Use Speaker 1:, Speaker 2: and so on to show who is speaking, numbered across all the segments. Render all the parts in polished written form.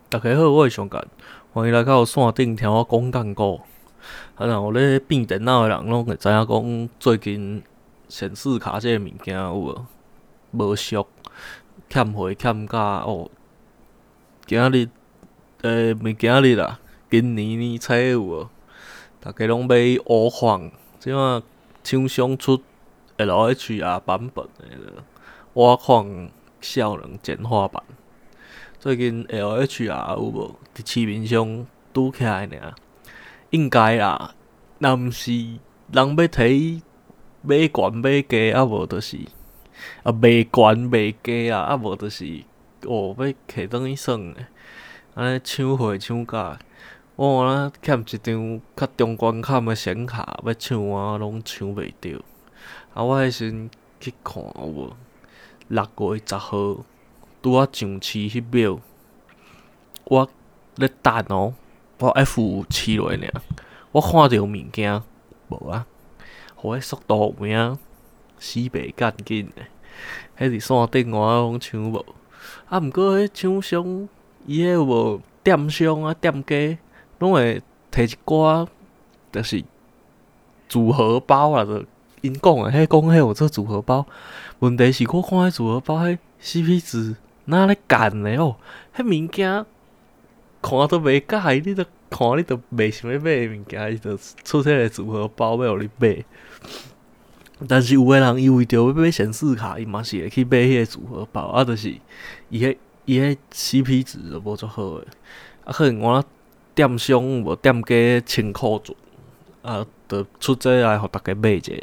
Speaker 1: 大家好，我是上干，欢迎来到线顶听我讲干股。若有咧变电脑的人，拢会知影讲最近显示卡这个物件有无无俗，欠货欠价哦。今日毋是今日啦，今年年初有无？大家拢买乌框，即摆厂商出 LHR 版本的挖矿效能简化版。最近 LHR 有无伫市面上拄起来尔？应该啦，若毋是人要摕买悬买低，无就是卖悬卖低啊，无就是要摕转去耍的，安尼抢货抢价。我若欠一张较中关坎的显卡，要抢我拢抢袂着。我迄时去看有无？6月10号拄啊上市迄秒，我咧等哦，我 F7落尔，我看着物件无啊，互迄速度有影死袂干紧的，迄伫线顶我拢抢无。毋过迄厂商伊迄有无店商啊店家，拢会摕一寡就是组合包啦，就因讲的，讲迄有做组合包。问题是我看迄组合包迄 CP 值哪咧干的哦？迄物件看都袂介意，你都看你都袂想要买的物件，伊就出迄个组合包要互你买。但是有个人伊为着要买显示卡，伊嘛是会去买迄个组合包，啊，就是伊迄 CP 值就无足好诶。啊，可能我店商无店家清库存，啊，就出这来互大家买者。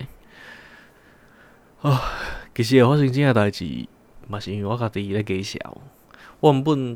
Speaker 1: 其实会发生这样代志，嘛是因为我家己咧假笑。我原本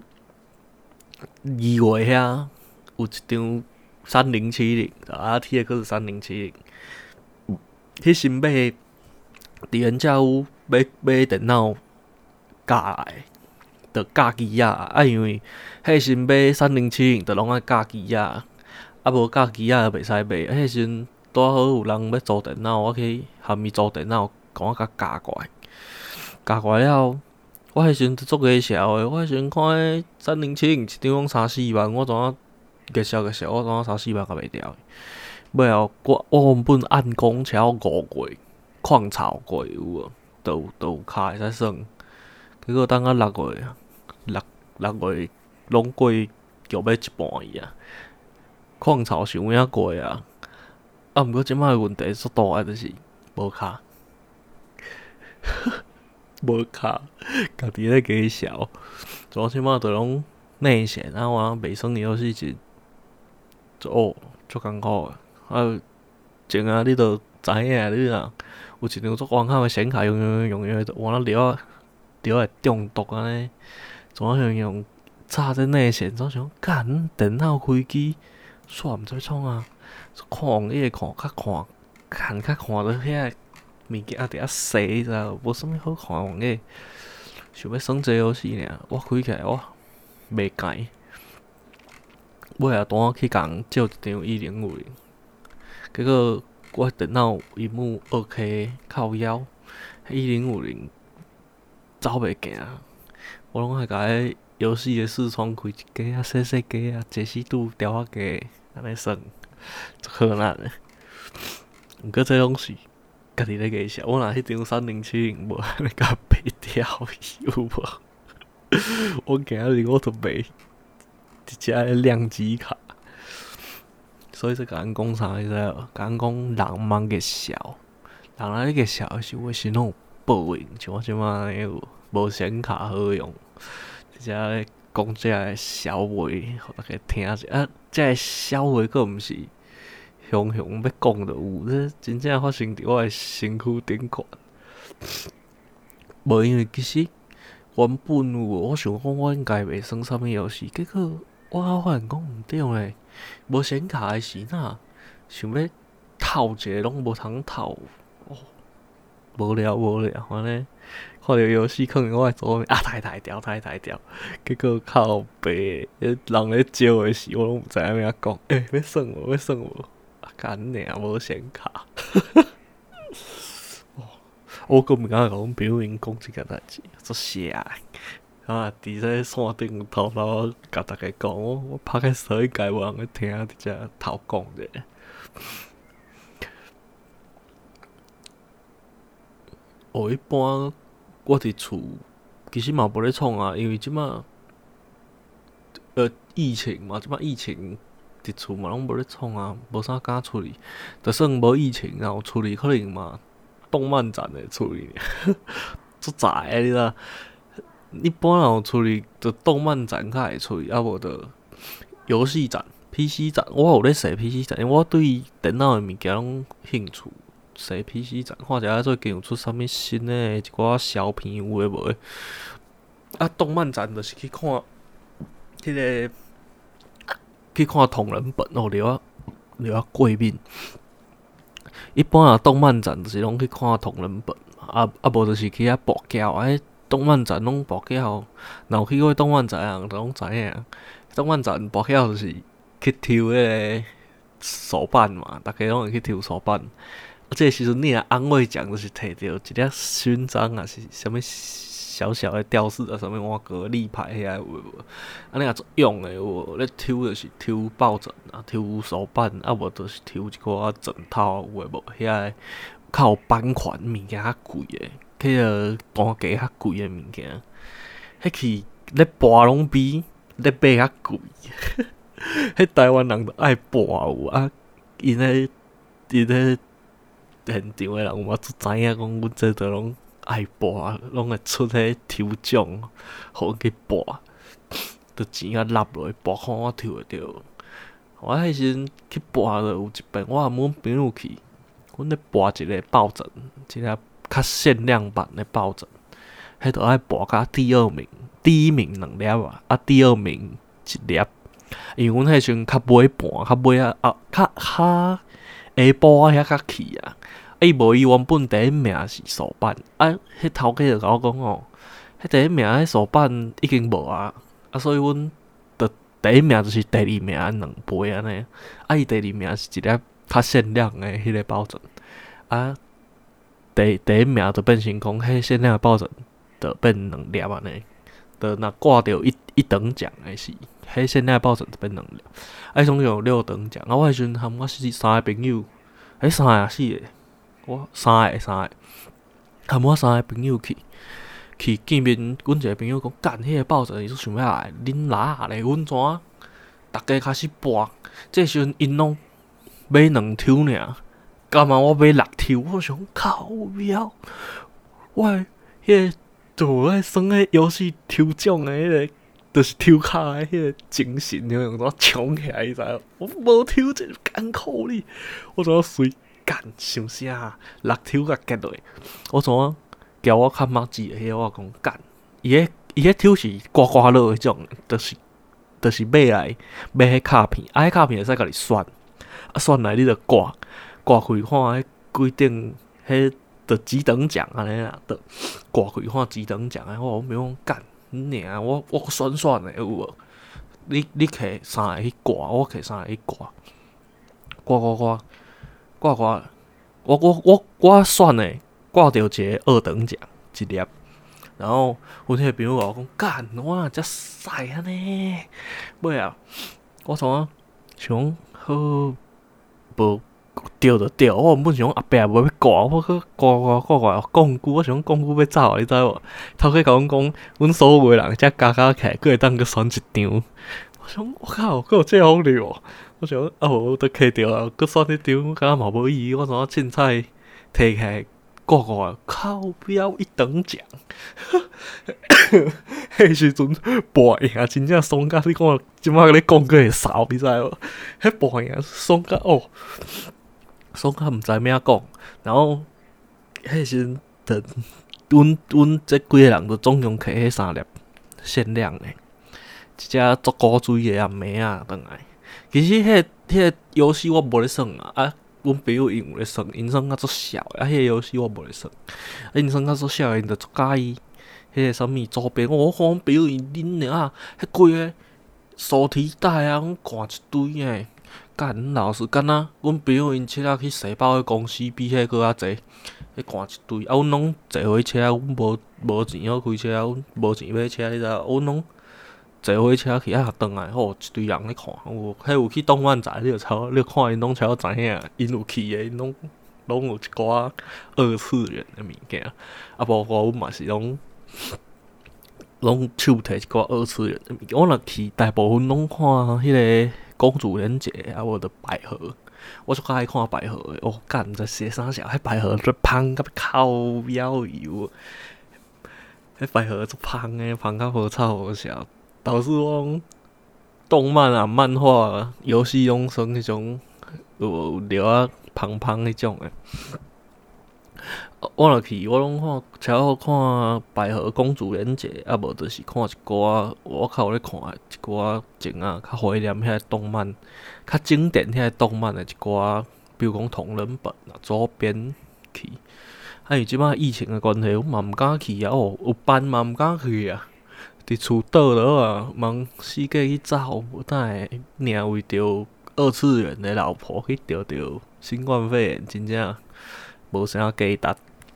Speaker 1: 2月遐有一张3070，RTX 3070，迄时买伫原价屋买电脑架来，着架机啊，因为迄时买3070着拢爱架机啊，无架机就袂使买。迄时拄好有人要租电脑，我去含伊租电脑，甲我架过来。架过来了，我迄时足假笑诶。我迄时看迄3070一张拢3-4万，我怎啊假笑，我怎啊3-4万甲袂掉？尾后我原本暗讲超5月矿槽过有无？都有卡会使耍。结果等到6月拢过叫要一半去啊，矿槽想影过啊。毋过即摆问题足大诶，就是无卡。无卡，家己咧假笑。我即摆着拢内线，啊，我袂耍的游戏是足艰苦诶。前你着知影，你若有一张足完好诶显卡，用的，换了了会中毒安尼。怎啊用插这内线？怎想干电脑开机煞毋知创啊？看网页看较看到遐物件伫遐洗，知无？无啥物好看网页，想要耍这游戏尔，我开起来我袂解。尾后单去共人借一张1050，结果我电脑屏幕2K 靠腰，1050走袂行。我拢爱甲迄游戏的视窗开一格啊，细格啊，解析度调较低，安尼耍，足困难诶。毋过这拢是家己咧假笑，我若迄张3070无安尼甲卖掉，有无？我今日我著卖一只量机卡，所以说甲人讲啥，你知无？甲人讲人茫个笑，人咧个笑的时候，心拢有报应，像我即摆安尼有无显卡好用，一只咧讲这个小话，互大家听者。啊，这个小话佫毋是雄要讲就有，这真正发生伫我的身躯顶悬。无因为其实原本我想讲我应该袂耍啥物游戏，结果我发现讲毋对咧，无显卡的时哪想要透一个拢无通透，无聊安尼。看到游戏可能我会做太掉，结果靠北，人咧招的时我拢毋知影要讲，要耍无？干尔无显卡。我阁毋敢甲阮朋友因讲即个代志，足邪的。 伫这线顶偷偷甲大家讲，我拍个手应该无人去听，伫遮偷讲者。一般我伫厝其实嘛无咧创啊，因为即马疫情嘛，即马疫情伫厝嘛拢无咧创啊，无啥敢出去。就算无疫情，然后出去可能嘛动漫展会出去，足早诶，你知？一般人出去就动漫展较会出去，啊无就游戏展、PC 展。我有咧踅 PC 展，因为我对电脑诶物件拢兴趣。踅 PC 展，看一下最近有出啥物新诶一寡小片有诶无诶。啊，动漫展就是去看迄个去看同人本哦，了啊过敏。一般啊，动漫展就是拢去看同人本，无就是去遐博胶。动漫展拢博胶，若有去过动漫展诶人，就拢知影。动漫展博胶就是去抽迄个手办嘛，大家拢会去抽手办。这个时阵你若安慰奖，就是摕到一粒勋章啊，是啥物小小的吊饰啊，啥物碗格立牌遐有无？啊，你若做用诶有无？咧抽就是抽抱枕啊，抽手办啊，无就是抽一寡枕头有诶无？遐较有版权物件较贵诶，迄个单价较贵诶物件，迄去咧博拢比咧买较贵。迄台湾人都爱博有啊，因咧现场诶人有嘛，足知影讲，阮这都拢爱博，拢会出迄抽奖，互阮去博，着钱甲纳落去博，看我抽会着。我迄时阵去博着有一遍，我含阮朋友去，阮咧博一个抱枕，一个较限量版的抱枕，迄着爱博甲第二名，第一名2粒啊，第二名1粒。因为阮迄时阵较尾盘，较尾较下晡啊遐较去啊。伊无伊原本第一名是手办，迄头家就甲我讲哦，迄第一名迄手办已经无啊，所以阮着第一名就是第二名2杯安尼，伊第二名是一粒较限量诶迄个抱枕，第一名就变成讲迄限量诶抱枕着变2粒安尼，着若挂着一等奖诶是，迄限量诶抱枕就变2粒，总共有6等奖，我迄时阵含我3个朋友，3个啊4个。我3个，含我3个朋友去见面，阮一个朋友讲，干迄个抱枕伊想要来，恁拉下咧，阮怎？大家开始博，这时阵因拢买2抽尔，干嘛我买6抽？我想靠妖，我迄个做咧算迄游戏抽奖诶迄个，就是抽卡诶迄个精神，用怎冲起来，你知？我无抽这艰苦哩，我怎随？干想啥？6抽甲结落，我怎啊交我较墨迹诶？迄我讲干，伊迄抽是刮刮乐迄种，就是买迄卡片，迄卡片会使甲你选，选来你着挂开看迄规定迄着几等奖安尼啦，着挂开看几等奖安尼。我讲干，尔我选诶有无？你摕3个去挂，我摕3个去挂，我选诶，挂着一个2等奖1粒，然后阮迄个朋友甲我讲，干，我若遮屎安尼，尾啊，我想好无着就着，我原本想后壁无要挂，我去挂，讲句，我想讲句要走啊，你知无？头家甲阮讲，阮所有诶人遮加起来，佫会当佫选一张。我想，我靠，佫有这好料哦！我想无得摕着啊，佫选迄张，敢若嘛无意义。我怎啊凊彩摕起来挂，靠标1等奖。迄时阵博赢真正爽甲你看，即摆咧讲佫会扫，你知无？迄博赢爽甲爽甲毋知影讲。然后迄时阵，阮这几个人都总共摕迄3粒限量诶。一只足古锥的妹啊，转来。其实迄个游戏我无咧耍啊，阮朋友因有咧耍，因耍甲足痟的，迄个游戏我无咧耍，因耍甲足痟的，因着足介意迄个啥物周边。我看阮朋友因恁啊，迄几个手提袋啊，拢挂一堆诶， 干老师干啊！阮朋友因车仔去西北个公司比迄搁较济，迄赶一堆，啊，阮拢坐火车，阮无钱好开车，阮无钱买车，你知影？阮拢坐火车去啊，转来，吼，一堆人咧看，迄有去动漫展，你看因拢才知影，因有去诶，因拢有一寡二次元诶物件，啊，包括阮嘛是拢手摕一寡二次元诶物件。我若去，大部分拢看迄个公主连结，啊，无着百合。我最较爱看百合诶，哦，干，毋知写啥小，迄百合最芳甲靠腰油，迄百合最芳诶，芳甲无臭无笑。导致我动漫啊、漫画啊、游戏拢算迄种有聊啊芳芳迄种诶。我若去，我拢超好看百合公主连结，啊无就是看一寡我较有咧看一寡前啊较怀念遐动漫、较经典遐动漫诶一寡，比如讲同人本啊、周边去。啊，因为即摆疫情诶关系，我嘛毋敢去啊，哦，有班嘛毋敢去啊。伫厝倒落啊，忙死过去走，无等会领为着二次元的老婆去得着新冠肺炎，真正无啥价值。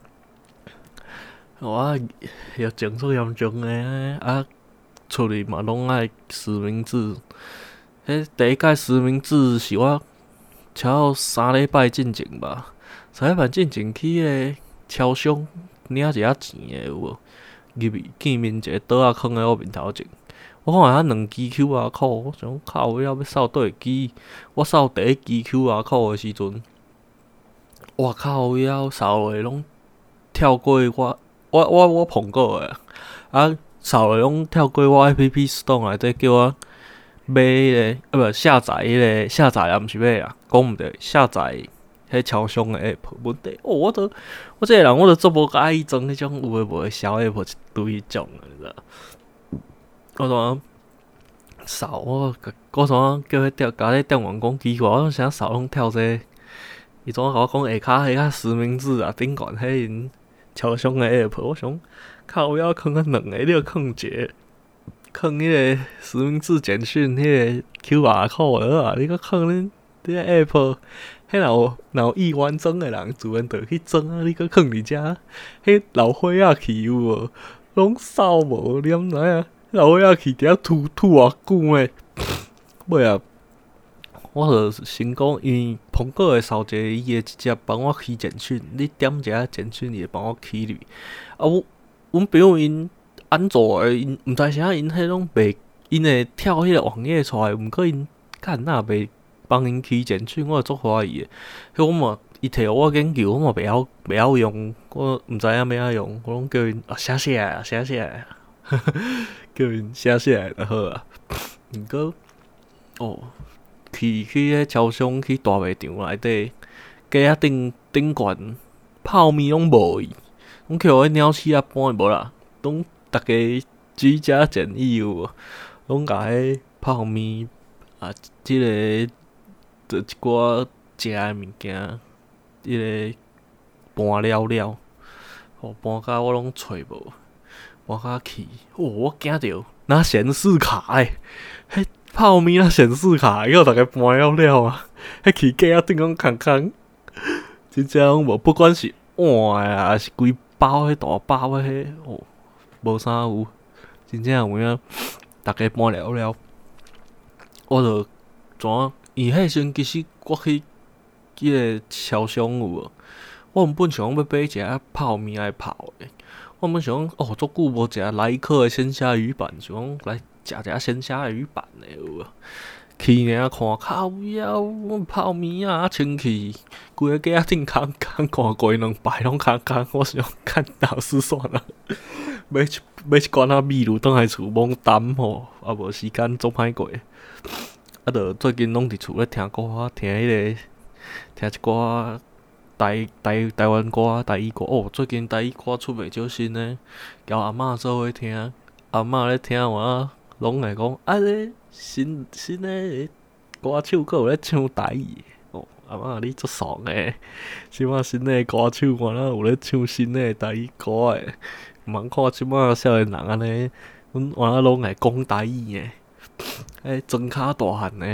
Speaker 1: 我疫情足严重诶，啊，出去嘛拢爱实名制。迄第一届实名制是我超3礼拜进前吧，3礼拜进前去迄个超商领一下钱诶有无？入去见面一个倒仔囥喺我面头前，我看下2支 QR code，我想靠，我要扫倒一支？我扫第一支 QR code 诶时阵，我靠，我要扫诶拢跳过我碰过诶，啊，扫诶拢跳过我 App Store 内底叫我买迄个，不下载迄个下载啊，毋是买啊，讲毋对，下载。迄超商诶 app 问题，哦，我这个人我做无介意装迄种有诶无诶小 app 一堆迄种诶，你知道？我怎扫我怎叫迄甲迄店员讲奇怪，我啥扫拢跳这个？伊怎甲我讲下骹实名制啊，顶悬迄因超商诶 app， 我想靠，我要囥啊2个，你著囥一个，囥迄个实名制简讯迄个 QR code 啊，你搁囥恁个 app。迄若有意完装诶人，自然就去装啊！你搁囥伫遮，迄老伙仔去有无？拢扫无，你毋知影？老伙仔去伫遐吐偌久诶。尾啊，我著先讲，因为苹果会扫一个伊会直接帮我起简讯，你点一下简讯，伊会帮我起入。啊，阮朋友因安卓诶，因毋知啥，因迄种袂，因会跳迄个网页出来，毋过因干那袂。帮因起简讯，我足怀疑诶。迄我嘛，伊摕我研究，我嘛袂晓用，我毋知影要安用，我拢叫因写写来，叫因写写来就好啊。毋过，哦，去迄超商去大卖场内底，街仔顶悬泡面拢无伊，拢去互迄鸟鼠仔搬无啦，拢逐家居家检疫有无？拢甲迄泡面啊，即个。就一寡食诶物件，迄个搬了，哦，搬甲我拢找无，搬甲去，哦，我惊着拿显示卡诶，迄泡面拿显示卡，叫大家搬了啊，迄去街仔顶拢空，真正拢无，不管是碗啊，还是规包迄大包迄，哦，无啥有，真正有影，大家搬了，我就怎？伊迄时其实我去迄个超商有无？我原本想要买一下泡面来泡诶。我原本想哦，足久无食莱克诶鲜虾鱼板，想讲来食一下鲜虾鱼板诶有无？去尔看靠腰，阮泡面啊，清气，规个街仔顶空，看过2摆拢空，我想看老师算了，买一罐仔米露倒来厝猛担吼，啊无时间做歹过。啊，著最近拢伫厝咧听歌，听一寡台湾歌、台语歌。哦，最近台语歌出袂少新诶，交阿嬷做伙听，阿嬷咧听我拢会讲啊，咧新诶歌手阁有咧唱台语。哦，阿嬷你足爽诶！即摆新诶歌手我哪有咧唱新诶台语歌诶？毋通看即摆少年人安尼，阮我拢会讲台语诶。迄装骹大汉诶，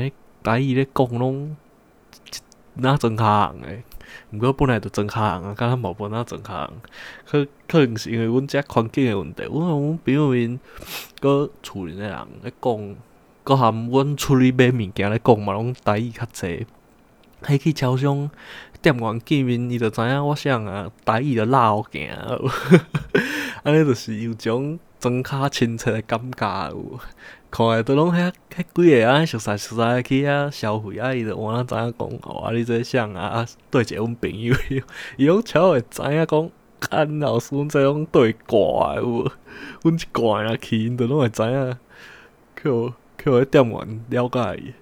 Speaker 1: 台语咧讲拢哪装卡行诶。毋过本来就装卡行啊，敢若无哪装卡行，可能是因为阮遮环境诶问题。阮朋友面搁厝里诶人咧讲，搁含阮出去买物件咧讲嘛，拢台语较济。迄去超商店员见面，伊就知影我啥啊，台语就拉互行，安尼就是有种装卡亲切诶感觉有。看诶都拢迄几个安尼熟识去遐消费，伊就换知影讲哦，你这啥啊？对一个阮朋友，伊拢超会知影讲，干老师阮这拢对挂诶有无？阮一挂若去，因就拢会知影，去迄店员了解伊。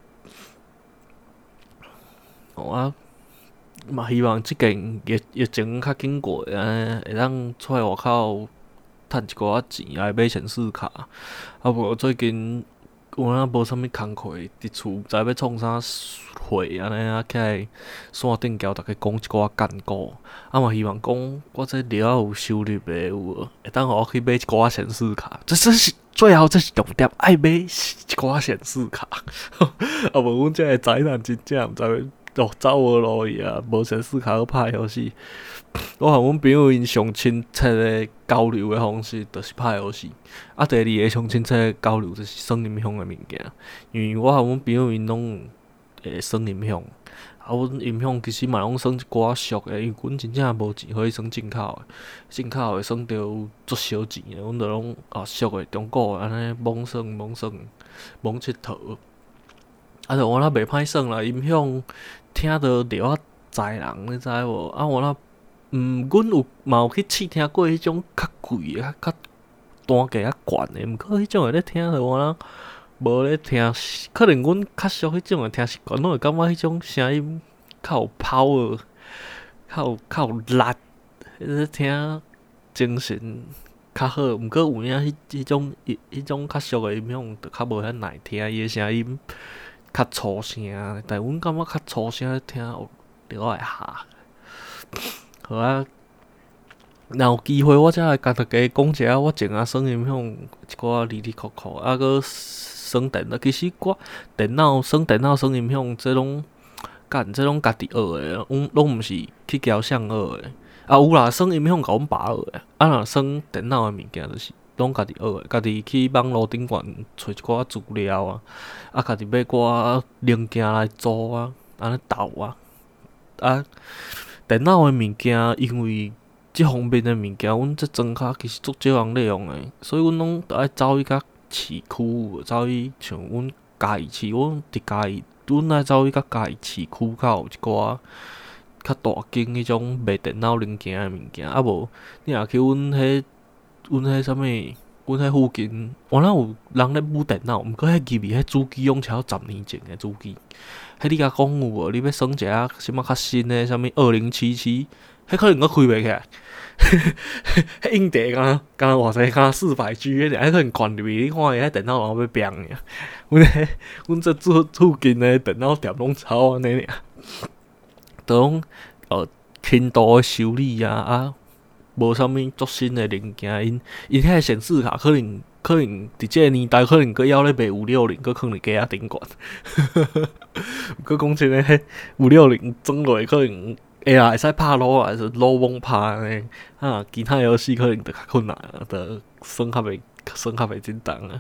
Speaker 1: 啊，嘛希望即件疫情较紧过，安尼会当出来外口趁一寡钱来买显示卡。啊无最近有影无啥物工课，伫厝毋知要创啥会安尼啊，起来线顶交逐个讲一寡干股。啊嘛希望讲我这了有收入诶有无，会当互我去买一寡显示卡。这是最后，这是重点，爱买一寡显示卡。啊无阮这个宅男真正毋知要走无路去啊，无显示卡去拍游戏。我和阮朋友因上亲切诶交流诶方式，就是拍游戏。啊，第二个上亲切诶交流就是耍音响诶物件，因为我和阮朋友因拢会耍音响。啊，阮音响其实嘛拢耍一寡俗诶，因为阮真正无钱可以耍进口诶，进口会耍着足少钱诶，阮着拢俗诶中国安尼猛耍，猛佚佗。啊，着我若袂歹耍啦，音响听着了知人，你知无？啊，我若阮嘛有去试听过迄种较贵诶、较单价较悬诶，毋过迄种诶咧听着我若无咧听，可能阮较俗迄种诶听习惯，拢会感觉迄种声音较有power，较有力，咧听精神较好。毋过有影迄种较俗诶音响，就较无遐耐听，伊诶声音较粗声，但阮感觉较粗声咧听了会下。好啊，若有机会我才来甲大家讲一下我前啊耍音响一寡哩哩扣扣，啊搁耍电脑。其实我耍电脑耍音响，这拢家己学诶，拢毋是去交相学诶。啊有啦，耍音响甲阮爸学诶，啊若耍电脑诶物件就是拢家己学诶，家己去网络顶悬找一寡资料啊，啊家己买寡零件来组啊，安尼斗啊。啊，电脑诶物件，因为即方面诶物件，阮这装卡其实足少人咧用诶，所以阮拢着爱走去甲市区，走去像阮嘉义市，阮伫嘉义，阮爱走去甲嘉义市区较有一寡较大间迄种卖电脑零件诶物件。啊无，你若去阮迄啥物，阮迄附近，原来有人咧舞电脑，毋过迄入面迄主机拢超10年前诶主机。迄你甲讲有无？你要耍一下啥物较新诶？啥物2077？迄可能阁开袂起来。迄硬碟敢偌济？敢400G 迄可能灌入去，你看伊迄电脑拢要变尔。阮这附近诶电脑店拢超安尼尔，都拢轻度诶修理啊，无啥物足新诶零件。因迄个显示卡可能伫即个年代，可能阁要咧卖560，阁放伫家仔顶悬。毋过讲真诶，迄560装落可能会啦，会使拍撸啊，是撸猛拍安尼。啊，其他游戏可能着较困难，着耍较袂真重啊。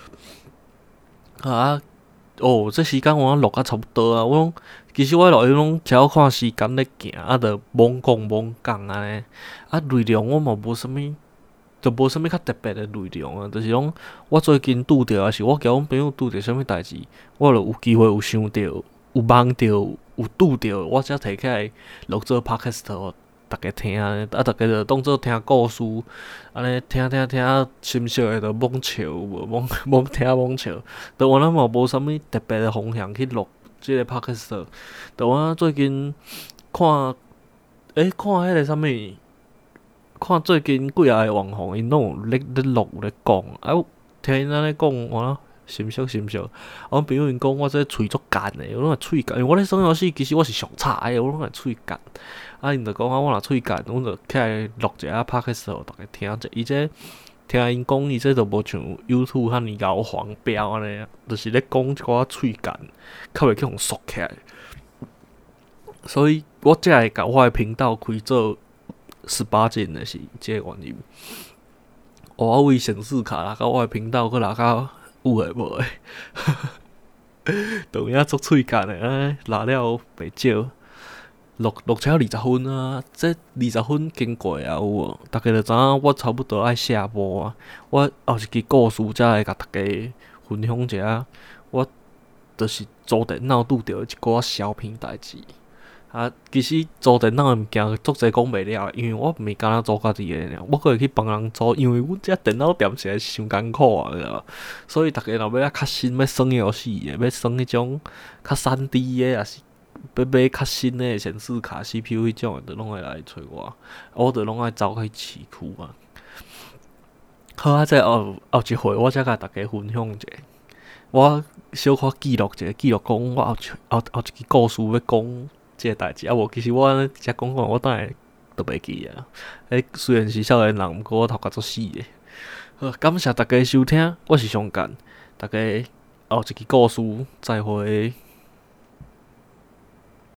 Speaker 1: 啊，这时间我录啊差不多啊。其实我录音拢只要看时间咧行，啊，着猛讲安尼。啊，内容我嘛无啥物。就无啥物较特别诶内容啊，就是讲我最近拄着，还是我交阮朋友拄着啥物代志，我就有机会有想着，有梦着，有拄着，我才摕起来录做 podcast 互大家听。啊，大家就当做听故事，安尼听，心俗诶就猛笑，猛听猛笑。就我嘛无啥物特别诶方向去录即个 podcast。就我最近看迄个啥物。看最近几啊个网红，因拢有咧录咧讲，啊，听因安尼讲，我心俗。阮朋友因讲我这喙足干诶，我拢会喙干。因为我咧耍游戏，其实我是上差诶，我拢会喙干。啊，因着讲我若喙干，阮着起来录一下 podcast 互大家听者。伊这听因讲，伊这都无像 YouTube 遐尼咬黄标安尼啊，就是咧讲一寡喙干，较袂去互缩起来。所以我才会甲我诶频道开做18禁的是即个原因。我为显示卡拉到我诶频道，佮拉到有诶无诶，当影做喙干诶，拉了袂少。录车20分啊，这20分经过啊有无？大家就知影我差不多爱下播啊。我后一支故事才会甲大家分享一下。我就是租电脑拄着一寡小品代志。啊，其实租电脑诶物件足侪讲袂了，因为我毋是敢若租家己诶尔，我可会去帮人租，因为阮遮电脑店实在是伤艰苦啊，知道？所以大家若要较新，要耍游戏诶，要耍迄种较3D 诶，也是。要买较新的显示卡、CPU 迄种的，拢会来找我就拢爱走去市区啊。好啊，再后一回，我才甲大家分享一下。我小可记录一下，记录讲我后一支故事要讲即个代志啊。无，其实我遮讲我等下都袂记啊。虽然是少年人，毋过我头壳足死的。好，感谢大家收听，我是上干，大家后一支故事再会。